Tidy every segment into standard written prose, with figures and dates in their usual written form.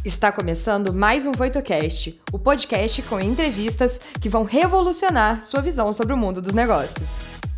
Está começando mais um VoitoCast, o podcast com entrevistas que vão revolucionar sua visão sobre o mundo dos negócios.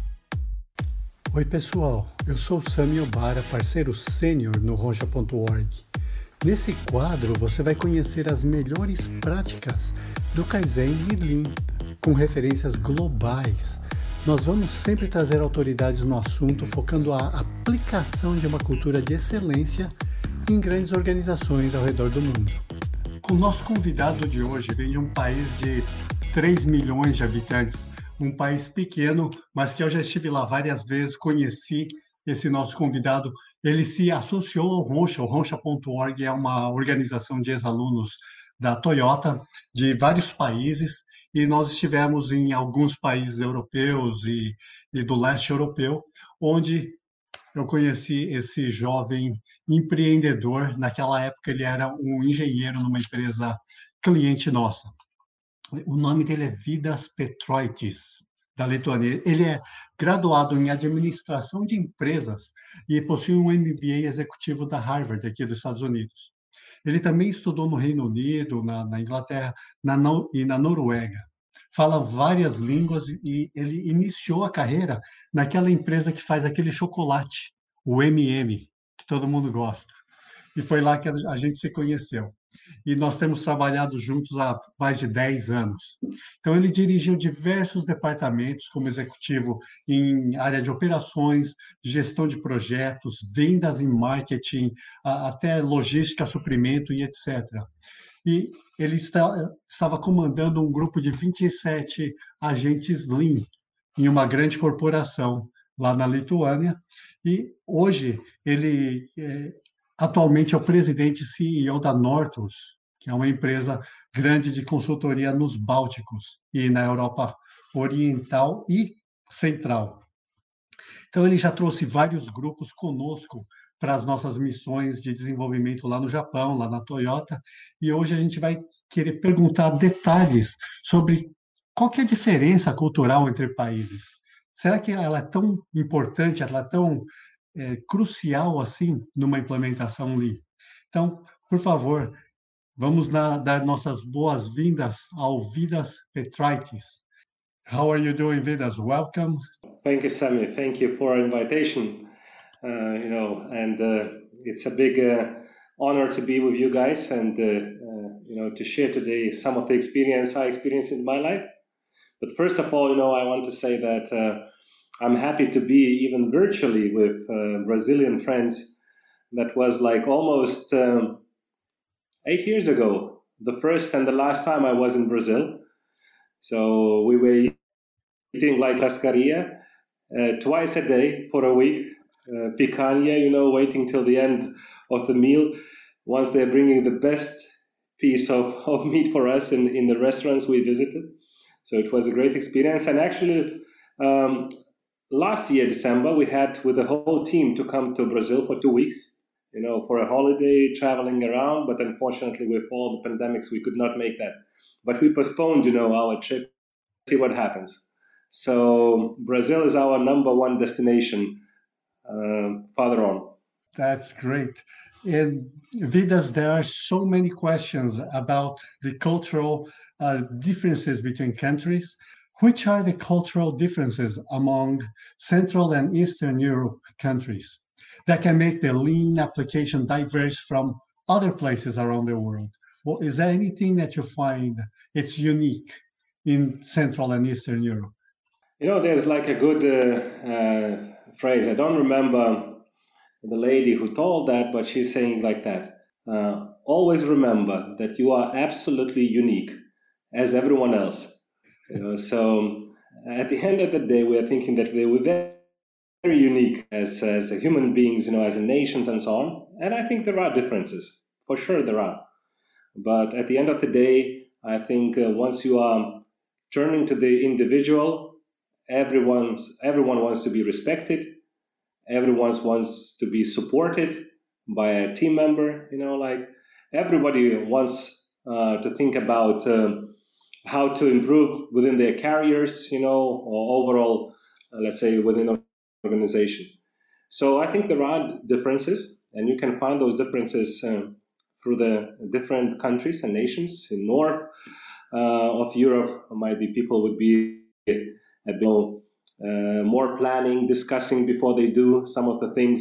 Oi pessoal, eu sou o Sami Obara, parceiro sênior no Roncha.org. Nesse quadro você vai conhecer as melhores práticas do Kaizen e Lean, com referências globais. Nós vamos sempre trazer autoridades no assunto, focando a aplicação de uma cultura de excelência em grandes organizações ao redor do mundo. O nosso convidado de hoje vem de um país de 3 milhões de habitantes, um país pequeno, mas que eu já estive lá várias vezes, conheci esse nosso convidado. Ele se associou ao Roncha, o Roncha.org é uma organização de ex-alunos da Toyota, de vários países, e nós estivemos em alguns países europeus e do leste europeu, onde eu conheci esse jovem empreendedor. Naquela época ele era um engenheiro numa empresa cliente nossa. O nome dele é Vidas Petroitis, da Lituânia. Ele é graduado em administração de empresas e possui um MBA executivo da Harvard, aqui dos Estados Unidos. Ele também estudou no Reino Unido, na Inglaterra e na Noruega. Fala várias línguas e ele iniciou a carreira naquela empresa que faz aquele chocolate, o MM, que todo mundo gosta. E foi lá que a gente se conheceu. E nós temos trabalhado juntos há mais de 10 anos. Então, ele dirigiu diversos departamentos como executivo em área de operações, gestão de projetos, vendas e marketing, até logística, suprimento e etc. E ele estava comandando um grupo de 27 agentes Lean em uma grande corporação lá na Lituânia. E hoje ele atualmente é o presidente e CEO da Nortus, que é uma empresa grande de consultoria nos Bálticos e na Europa Oriental e Central. Então, ele já trouxe vários grupos conosco para as nossas missões de desenvolvimento lá no Japão, lá na Toyota, e hoje a gente vai querer perguntar detalhes sobre qual que é a diferença cultural entre países. Será que ela é tão importante, ela é tão crucial assim numa implementação Lean? Então, por favor, vamos dar nossas boas-vindas ao Vidas Petroitis. How are you doing, Vidas? Welcome. Thank you, Sami. Thank you for invitation. It's a big honor to be with you guys and to share today some of the experience I experienced in my life. But first of all, I want to say that I'm happy to be even virtually with Brazilian friends. That was like almost 8 years ago, the first and the last time I was in Brazil. So we were eating like cascaria twice a day for a week, picanha, waiting till the end of the meal once they're bringing the best piece of meat for us in the restaurants we visited. So it was a great experience. And actually, last year, December, we had with the whole team to come to Brazil for 2 weeks, for a holiday, traveling around. But unfortunately, with all the pandemics, we could not make that. But we postponed, our trip, see what happens. So Brazil is our number one destination farther on. That's great. And Vidas, there are so many questions about the cultural differences between countries. Which are the cultural differences among Central and Eastern Europe countries that can make the Lean application diverse from other places around the world? Well, is there anything that you find it's unique in Central and Eastern Europe? There's like a good phrase. I don't remember the lady who told that, but she's saying like that. Always remember that you are absolutely unique as everyone else. So at the end of the day, we are thinking that we're very unique as human beings, as nations and so on. And I think there are differences. For sure there are. But at the end of the day, I think once you are turning to the individual, everyone wants to be respected. Everyone wants to be supported by a team member. Everybody wants to think about how to improve within their careers, or overall, let's say, within an organization. So I think there are differences, and you can find those differences through the different countries and nations. In north of Europe, might be people would be a bit more planning, discussing before they do some of the things,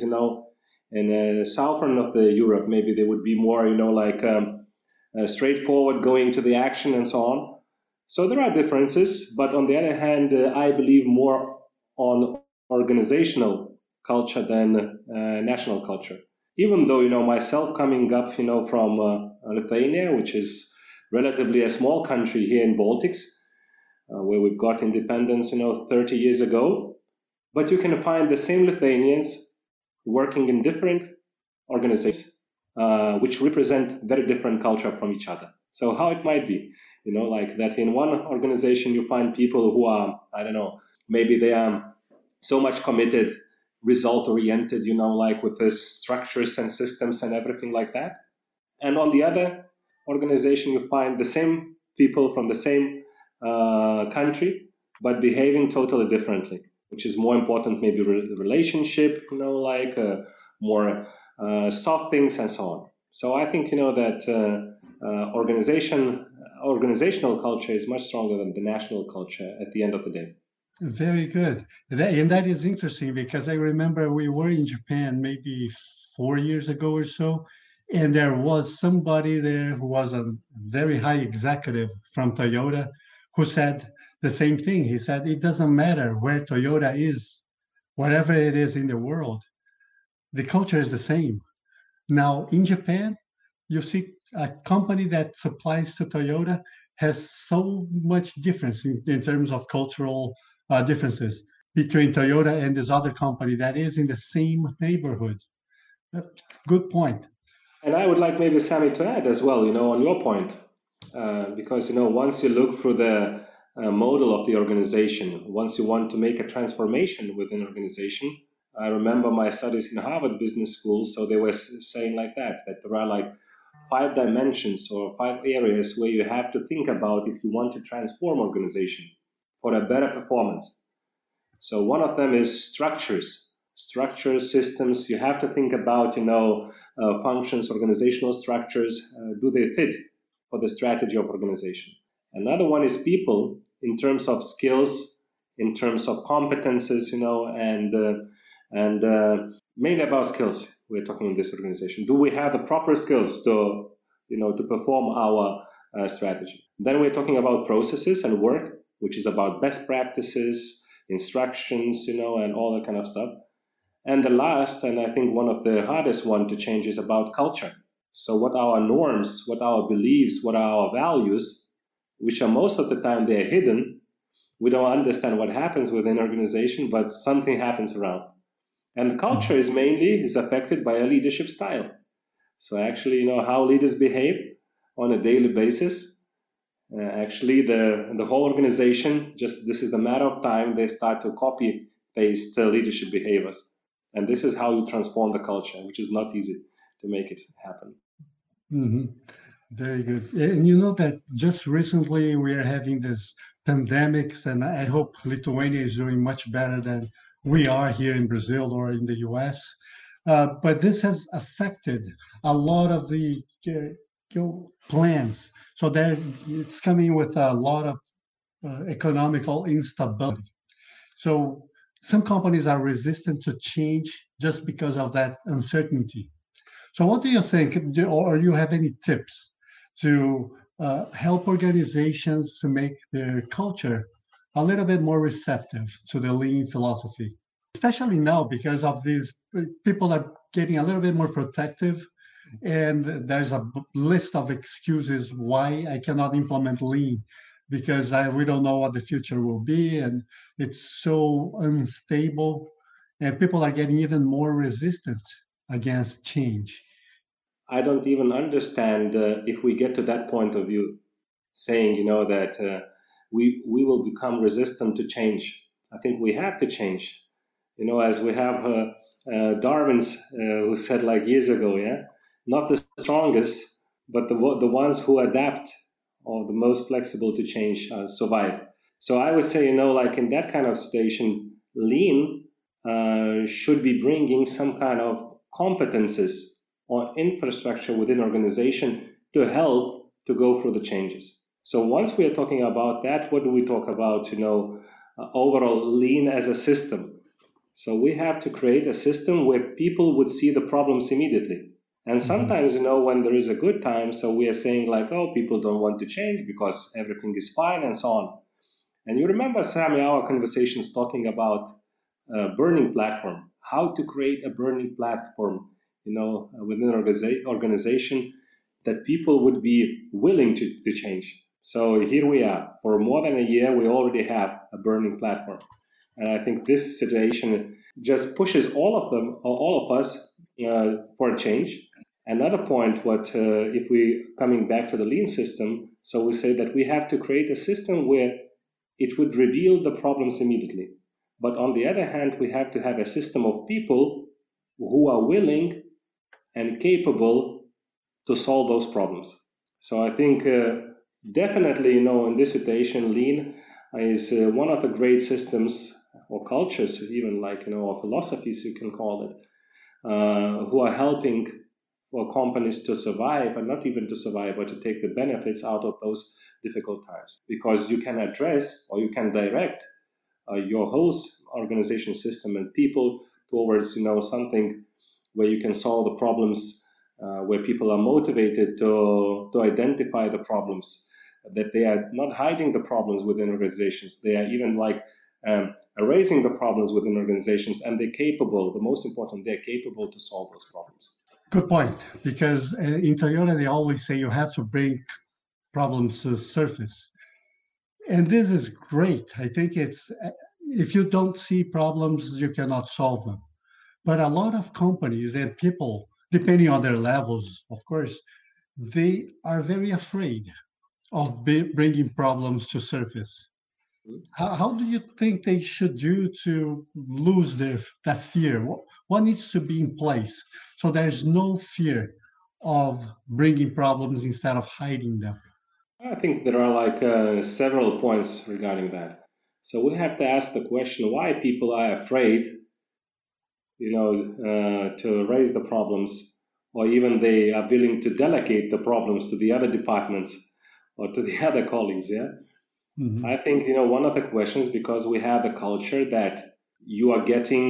In southern of the Europe, maybe they would be more, straightforward, going to the action and so on. So there are differences, but on the other hand, I believe more on organizational culture than national culture. Even though, myself coming up, from Lithuania, which is relatively a small country here in Baltics, where we've got independence, 30 years ago, but you can find the same Lithuanians working in different organizations, which represent very different culture from each other. So how it might be, like that in one organization you find people who are, maybe they are so much committed, result-oriented, like with the structures and systems and everything like that. And on the other organization, you find the same people from the same country, but behaving totally differently, which is more important, maybe relationship, more soft things and so on. So I think, that organizational culture is much stronger than the national culture at the end of the day. Very good. And that is interesting because I remember we were in Japan maybe 4 years ago or so, and there was somebody there who was a very high executive from Toyota who said the same thing. He said, it doesn't matter where Toyota is, whatever it is in the world, the culture is the same. Now, in Japan, you see a company that supplies to Toyota has so much difference in terms of cultural differences between Toyota and this other company that is in the same neighborhood. Good point. And I would like maybe Sami to add as well, on your point, because, once you look through the model of the organization, once you want to make a transformation within an organization, I remember my studies in Harvard Business School, so they were saying like that there are like 5 dimensions or 5 areas where you have to think about if you want to transform organization for a better performance. So one of them is structures, systems. You have to think about, functions, organizational structures. Do they fit for the strategy of organization? Another one is people in terms of skills, in terms of competences, and mainly about skills. We're talking in this organization. Do we have the proper skills to perform our strategy? Then we're talking about processes and work, which is about best practices, instructions, and all that kind of stuff. And the last, and I think one of the hardest one to change, is about culture. So what are our norms, what are our beliefs, what are our values, which are most of the time they're hidden. We don't understand what happens within an organization, but something happens around. And culture is affected by a leadership style. So actually, how leaders behave on a daily basis. Actually, the whole organization, this is a matter of time, they start to copy paste leadership behaviors. And this is how you transform the culture, which is not easy to make it happen. Mm-hmm. Very good. And you know that just recently we are having this pandemics, and I hope Lithuania is doing much better than we are here in Brazil or in the US. But this has affected a lot of the plans. So it's coming with a lot of economical instability. So some companies are resistant to change just because of that uncertainty. So what do you think, or do you have any tips to help organizations to make their culture a little bit more receptive to the lean philosophy? Especially now, because of these people are getting a little bit more protective, and there's a list of excuses why I cannot implement lean, because we don't know what the future will be, and it's so unstable, and people are getting even more resistant against change. I don't even understand if we get to that point of view, saying, that we will become resistant to change. I think we have to change. As we have Darwin's who said like years ago, not the strongest, but the ones who adapt or the most flexible to change survive. So I would say, like in that kind of situation, lean should be bringing some kind of competences or infrastructure within organization to help to go through the changes. So once we are talking about that, what do we talk about? Overall lean as a system. So we have to create a system where people would see the problems immediately. And sometimes, when there is a good time, so we are saying like, oh, people don't want to change because everything is fine and so on. And you remember, Sammy, our conversations talking about a burning platform, how to create a burning platform, within an organization that people would be willing to change. So here we are. For more than a year, we already have a burning platform. And I think this situation just pushes all of us for a change. Another point, if we coming back to the lean system, so we say that we have to create a system where it would reveal the problems immediately. But on the other hand, we have to have a system of people who are willing and capable to solve those problems. So I think definitely, in this situation, lean is one of the great systems or cultures, even or philosophies, you can call it, who are helping for companies to survive, and not even to survive, but to take the benefits out of those difficult times. Because you can address or you can direct your whole organization system and people towards something where you can solve the problems, where people are motivated to identify the problems, that they are not hiding the problems within organizations. They are even erasing the problems within organizations, and they're capable, the most important, they're capable to solve those problems. Good point, because in Toyota, they always say you have to bring problems to the surface. And this is great. I think it's, if you don't see problems, you cannot solve them. But a lot of companies and people, depending on their levels, of course, they are very afraid of bringing problems to surface. How do you think they should do to lose that fear? What needs to be in place so there's no fear of bringing problems instead of hiding them? I think there are several points regarding that. So we have to ask the question why people are afraid, to raise the problems, or even they are willing to delegate the problems to the other departments or to the other colleagues. Yeah. Mm-hmm. I think, one of the questions, because we have a culture that you are getting,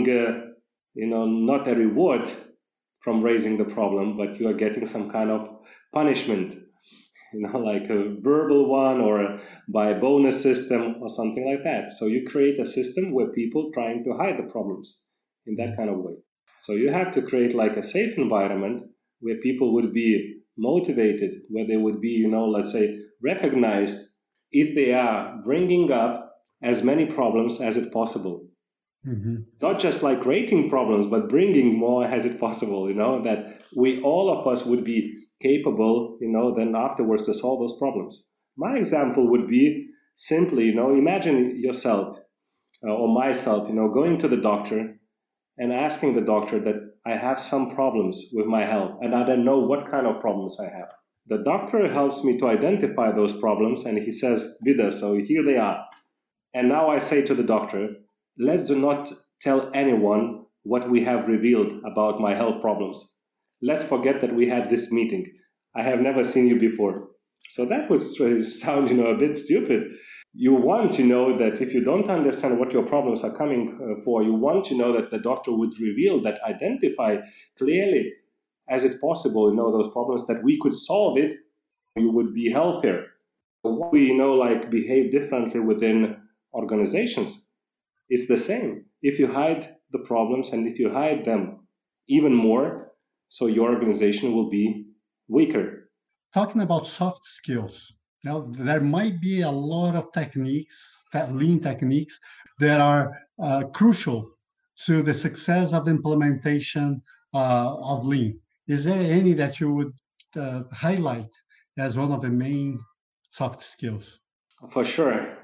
not a reward from raising the problem, but you are getting some kind of punishment, like a verbal one or by a bonus system or something like that. So you create a system where people trying to hide the problems in that kind of way. So you have to create like a safe environment where people would be motivated, where they would be, let's say, recognized if they are bringing up as many problems as it possible. Mm-hmm. Not just like rating problems, but bringing more as it possible, that all of us would be capable, then afterwards to solve those problems. My example would be simply, imagine yourself or myself, going to the doctor and asking the doctor that I have some problems with my health and I don't know what kind of problems I have. The doctor helps me to identify those problems and he says, Vida, so here they are. And now I say to the doctor, let's do not tell anyone what we have revealed about my health problems. Let's forget that we had this meeting. I have never seen you before. So that would sound, a bit stupid. You want to know that if you don't understand what your problems are coming for, you want to know that the doctor would reveal that, identify clearly as it possible, those problems, that we could solve it, you would be healthier. So we behave differently within organizations. It's the same. If you hide the problems and if you hide them even more, so your organization will be weaker. Talking about soft skills, now there might be a lot of techniques, lean techniques, that are crucial to the success of the implementation of lean. Is there any that you would highlight as one of the main soft skills? For sure,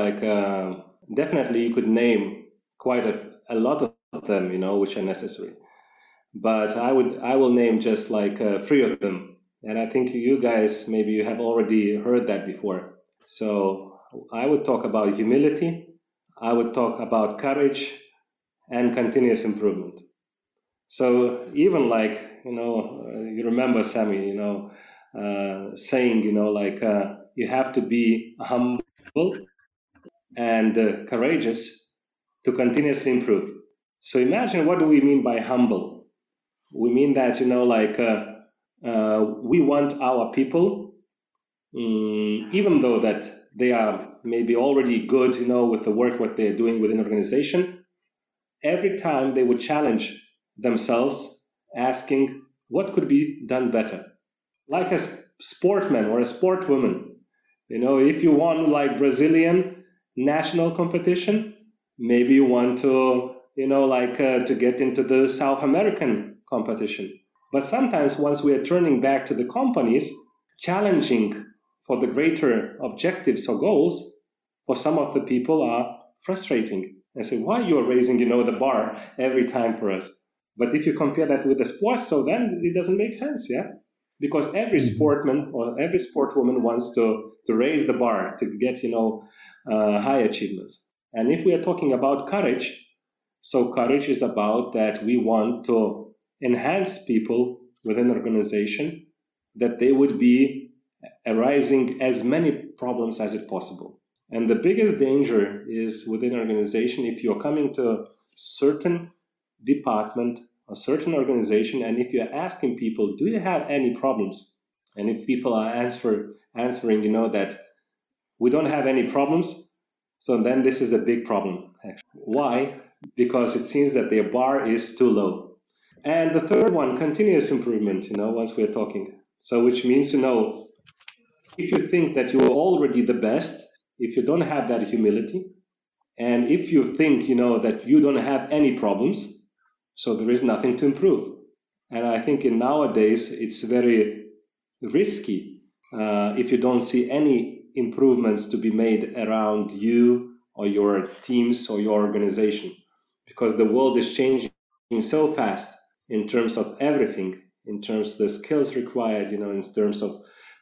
definitely you could name quite a lot of them, which are necessary. But I will name just 3 of them. And I think you guys, maybe you have already heard that before. So I would talk about humility, I would talk about courage and continuous improvement. So even like, you remember Sammy, saying, you have to be humble and courageous to continuously improve. So imagine, what do we mean by humble? We mean that, we want our people, even though that they are maybe already good, with the work, what they're doing within an organization, every time they would challenge themselves, asking what could be done better. Like a sportman or a sportwoman, if you won like Brazilian national competition, maybe you want to, to get into the South American competition. But sometimes once we are turning back to the companies, challenging for the greater objectives or goals, for some of the people are frustrating. And say, why you are raising, the bar every time for us? But if you compare that with the sports, so then it doesn't make sense, yeah? Because every sportman or every sportwoman wants to raise the bar to get, high achievements. And if we are talking about courage, so courage is about that we want to enhance people within an organization, that they would be arising as many problems as it possible. And the biggest danger is within an organization, if you're coming to a certain department, a certain organization, and if you're asking people, do you have any problems? And if people are answering, that we don't have any problems, so then this is a big problem. Why? Because it seems that their bar is too low. And the third one, continuous improvement, once we're talking. So which means, if you think that you're already the best, if you don't have that humility, and if you think, that you don't have any problems, so there is nothing to improve. And I think in nowadays, it's very risky if you don't see any improvements to be made around you or your teams or your organization, because the world is changing so fast in terms of everything, in terms of the skills required, in terms of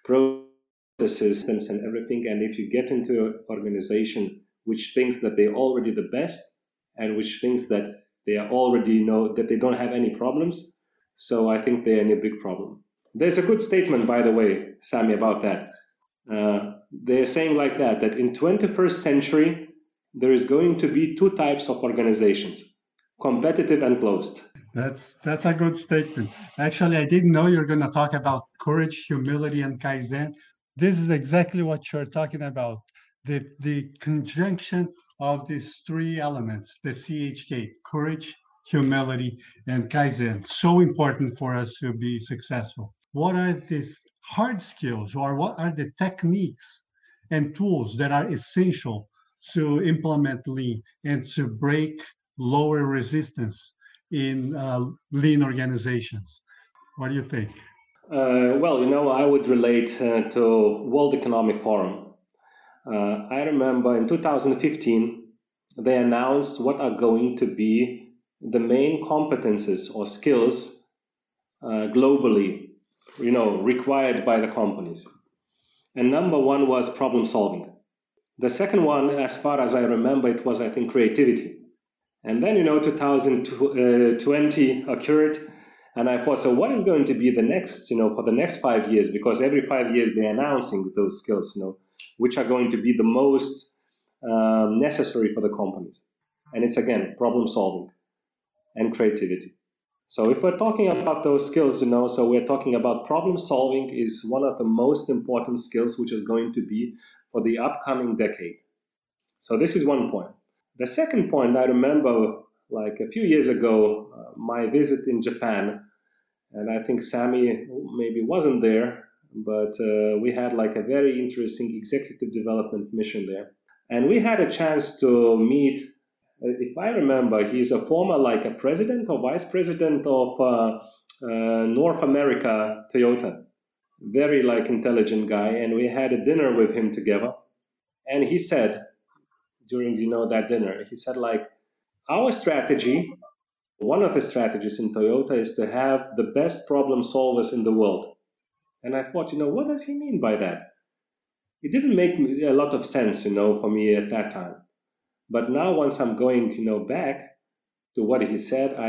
processes and everything. And if you get into an organization which thinks that they're already the best, and which thinks that they are already that they don't have any problems, so I think they're in a big problem. There's a good statement, by the way, Sammy, about that. They're saying like that in 21st century, there is going to be two types of organizations, competitive and closed. That's a good statement. Actually, I didn't know you're going to talk about courage, humility, and Kaizen. This is exactly what you're talking about. The conjunction of these three elements, the CHK, courage, humility, and Kaizen, so important for us to be successful. What are these hard skills, or what are the techniques and tools that are essential to implement lean and to break lower resistance in lean organizations? What do you think? Well, I would relate to World Economic Forum. I remember in 2015, they announced what are going to be the main competences or skills globally, required by the companies. And number one was problem solving. The second one, as far as I remember, it was, I think, creativity. And then, 2020 occurred, and I thought, so what is going to be the next, for the next 5 years? Because every 5 years they're announcing those skills, which are going to be the most necessary for the companies. And it's, again, problem solving and creativity. So if we're talking about those skills, so we're talking about problem solving is one of the most important skills which is going to be for the upcoming decade. So this is one point. The second point, I remember like a few years ago, my visit in Japan, and I think Sammy maybe wasn't there, but we had like a very interesting executive development mission there. And we had a chance to meet, if I remember, he's a former like a president or vice president of North America Toyota. Very like intelligent guy. And we had a dinner with him together. And he said, during that dinner, he said like, our strategy, one of the strategies in Toyota is to have the best problem solvers in the world. And I thought, what does he mean by that? It didn't make a lot of sense, for me at that time. But now once I'm going, back to what he said,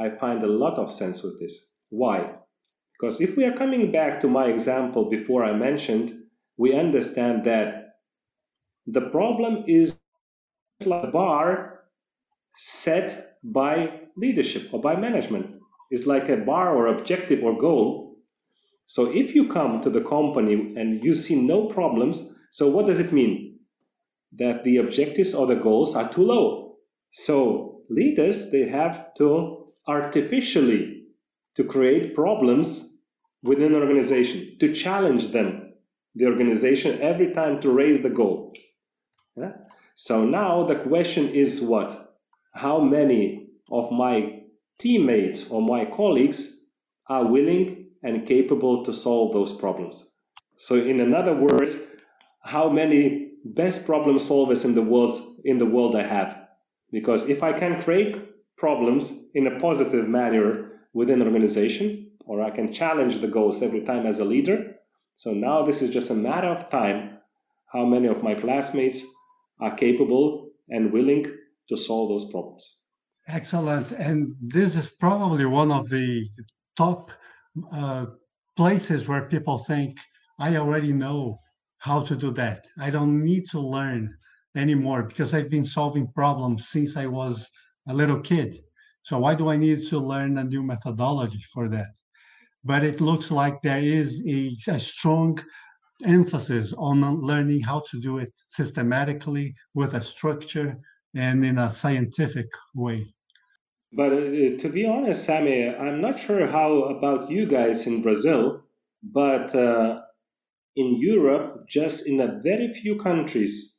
I find a lot of sense with this. Why? Because if we are coming back to my example before I mentioned, we understand that the problem is like a bar set by leadership or by management. It's like a bar or objective or goal. So if you come to the company and you see no problems, so what does it mean? That the objectives or the goals are too low. So leaders, they have to artificially to create problems within an organization, to challenge them, the organization, every time to raise the goal. Yeah? So now the question is what? How many of my teammates or my colleagues are willing and capable to solve those problems? So in other words, how many best problem solvers in the world I have? Because if I can create problems in a positive manner within an organization, or I can challenge the goals every time as a leader, so now this is just a matter of time how many of my classmates are capable and willing to solve those problems. Excellent. And this is probably one of the top places where people think, I already know how to do that. I don't need to learn anymore because I've been solving problems since I was a little kid. So why do I need to learn a new methodology for that? But it looks like there is a strong emphasis on learning how to do it systematically with a structure and in a scientific way. But to be honest, Sammy, I'm not sure how about you guys in Brazil, but in Europe, just in a very few countries,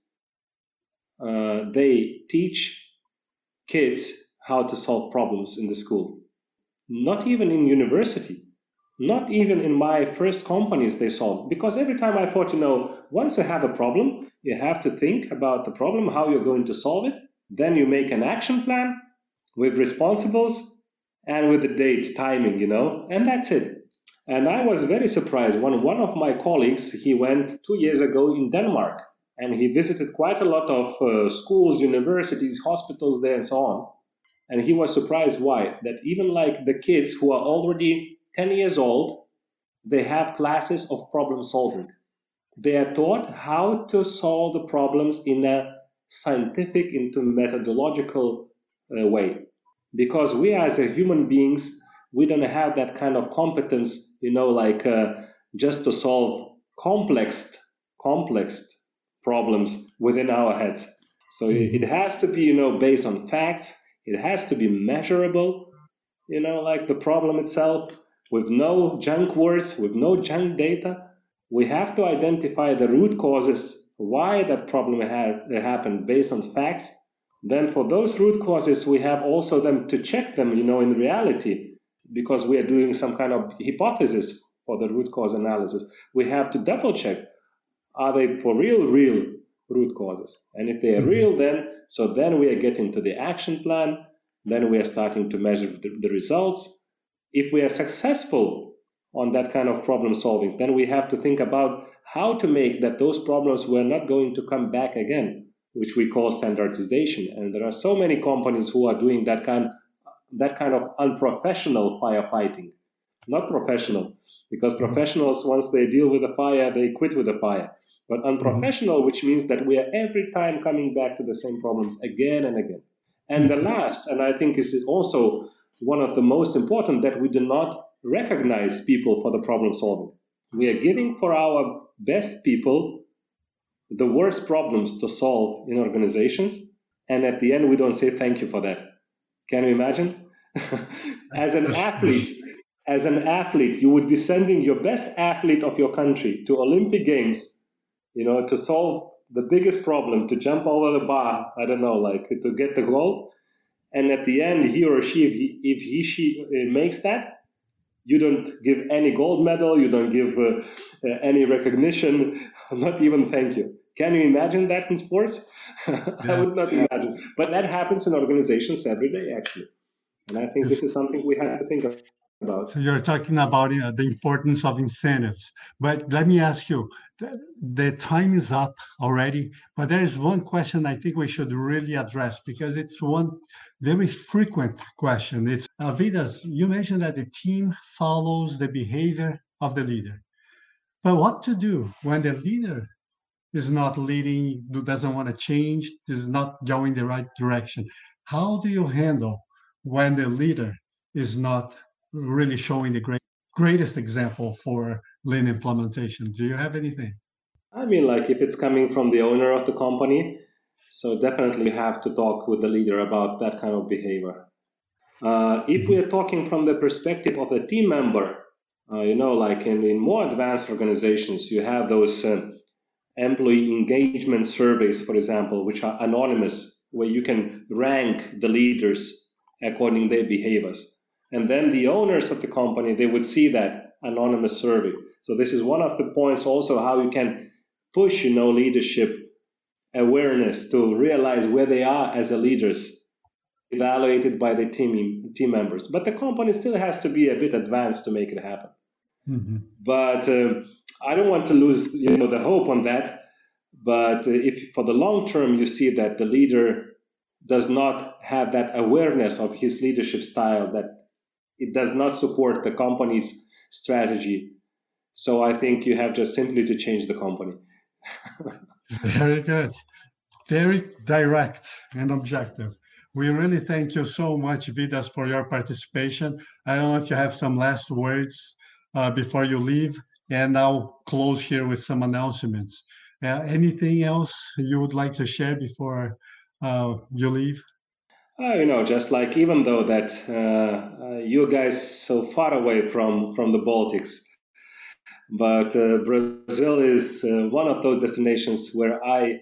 they teach kids how to solve problems in the school. Not even in university, not even in my first companies they solve. Because every time I thought, once you have a problem, you have to think about the problem, how you're going to solve it. Then you make an action plan with responsibles and with the date, timing, and that's it. And I was very surprised when one of my colleagues, he went 2 years ago in Denmark, and he visited quite a lot of schools, universities, hospitals there and so on. And he was surprised why? That even like the kids who are already 10 years old, they have classes of problem solving. They are taught how to solve the problems in a scientific, into methodological way. Because we as a human beings, we don't have that kind of competence, just to solve complex problems within our heads. So it has to be, based on facts. It has to be measurable, like the problem itself, with no junk words, with no junk data. We have to identify the root causes, why that problem has happened based on facts. Then for those root causes, we have also them to check them, in reality, because we are doing some kind of hypothesis for the root cause analysis. We have to double check, are they for real root causes? And if they are real, then we are getting to the action plan. Then we are starting to measure the results. If we are successful on that kind of problem solving, then we have to think about how to make that those problems were not going to come back again, which we call standardization. And there are so many companies who are doing that kind of unprofessional firefighting. Not professional, because professionals, once they deal with a fire, they quit with the fire. But unprofessional, which means that we are every time coming back to the same problems again and again. And the last, and I think is also one of the most important, that we do not recognize people for the problem solving. We are giving for our best people the worst problems to solve in organizations, and at the end we don't say thank you for that. Can you imagine? As an athlete, you would be sending your best athlete of your country to Olympic Games, to solve the biggest problem, to jump over the bar, I don't know, to get the gold. And at the end, he or she, if she makes that, you don't give any gold medal, you don't give any recognition, not even thank you. Can you imagine that in sports? I would not imagine. But that happens in organizations every day, actually. And I think this is something we have to think of. about. So you're talking about the importance of incentives. But let me ask you, the time is up already, but there is one question I think we should really address because it's one very frequent question. It's, Vidas, you mentioned that the team follows the behavior of the leader. But what to do when the leader is not leading, doesn't want to change, is not going the right direction? How do you handle when the leader is not really showing the greatest example for lean implementation? Do you have anything? I mean, like if it's coming from the owner of the company, so definitely you have to talk with the leader about that kind of behavior. If we are talking from the perspective of the team member, like in more advanced organizations, you have those employee engagement surveys, for example, which are anonymous, where you can rank the leaders according to their behaviors. And then the owners of the company, they would see that anonymous survey. So this is one of the points also how you can push, leadership awareness to realize where they are as a leaders, evaluated by the team members. But the company still has to be a bit advanced to make it happen. Mm-hmm. But I don't want to lose, the hope on that. But if for the long term you see that the leader does not have that awareness of his leadership style, that it does not support the company's strategy, so I think you have just simply to change the company. Very good. Very direct and objective. We really thank you so much, Vidas, for your participation. I don't know if you have some last words before you leave, and I'll close here with some announcements. Anything else you would like to share before you leave? Just like even though that you guys so far away from the Baltics, but Brazil is one of those destinations where I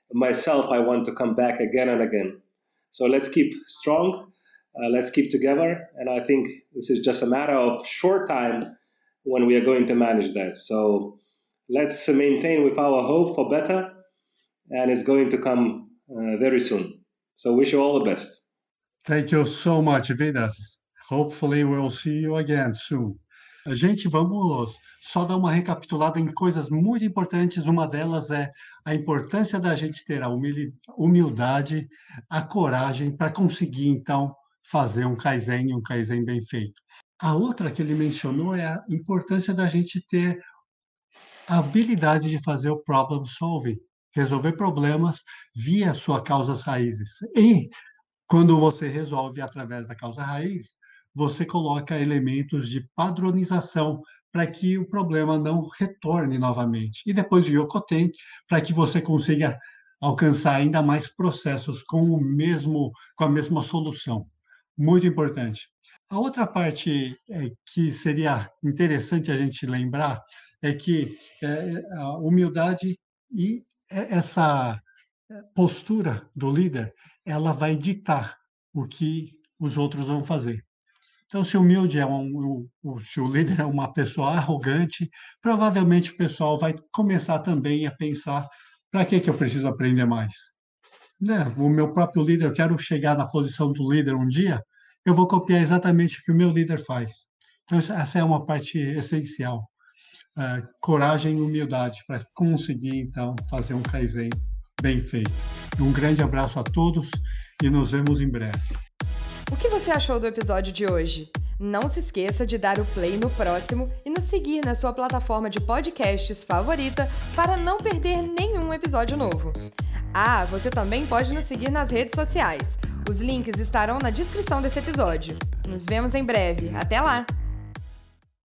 want to come back again and again. So let's keep strong, let's keep together, and I think this is just a matter of short time when we are going to manage that. So let's maintain with our hope for better, and it's going to come very soon. So wish you all the best. Thank you so much, Vidas. Hopefully we'll see you again soon. Gente, vamos só dar uma recapitulada em coisas muito importantes. Uma delas é a importância da gente ter a humildade, a coragem para conseguir, então, fazer um Kaizen bem feito. A outra que ele mencionou é a importância da gente ter a habilidade de fazer o problem solving, resolver problemas via suas causas raízes. E quando você resolve através da causa raiz, você coloca elementos de padronização para que o problema não retorne novamente. E depois o Yokoten, para que você consiga alcançar ainda mais processos com a mesma solução. Muito importante. A outra parte que seria interessante a gente lembrar é que a humildade e essa postura do líder, ela vai ditar o que os outros vão fazer. Então, se o humilde se o líder é uma pessoa arrogante, provavelmente o pessoal vai começar também a pensar: para que eu preciso aprender mais? O meu próprio líder, eu quero chegar na posição do líder um dia, eu vou copiar exatamente o que o meu líder faz. Então, essa é uma parte essencial. Coragem e humildade para conseguir, então, fazer um Kaizen bem feito. Um grande abraço a todos e nos vemos em breve. O que você achou do episódio de hoje? Não se esqueça de dar o play no próximo e nos seguir na sua plataforma de podcasts favorita para não perder nenhum episódio novo. Você também pode nos seguir nas redes sociais. Os links estarão na descrição desse episódio. Nos vemos em breve. Até lá!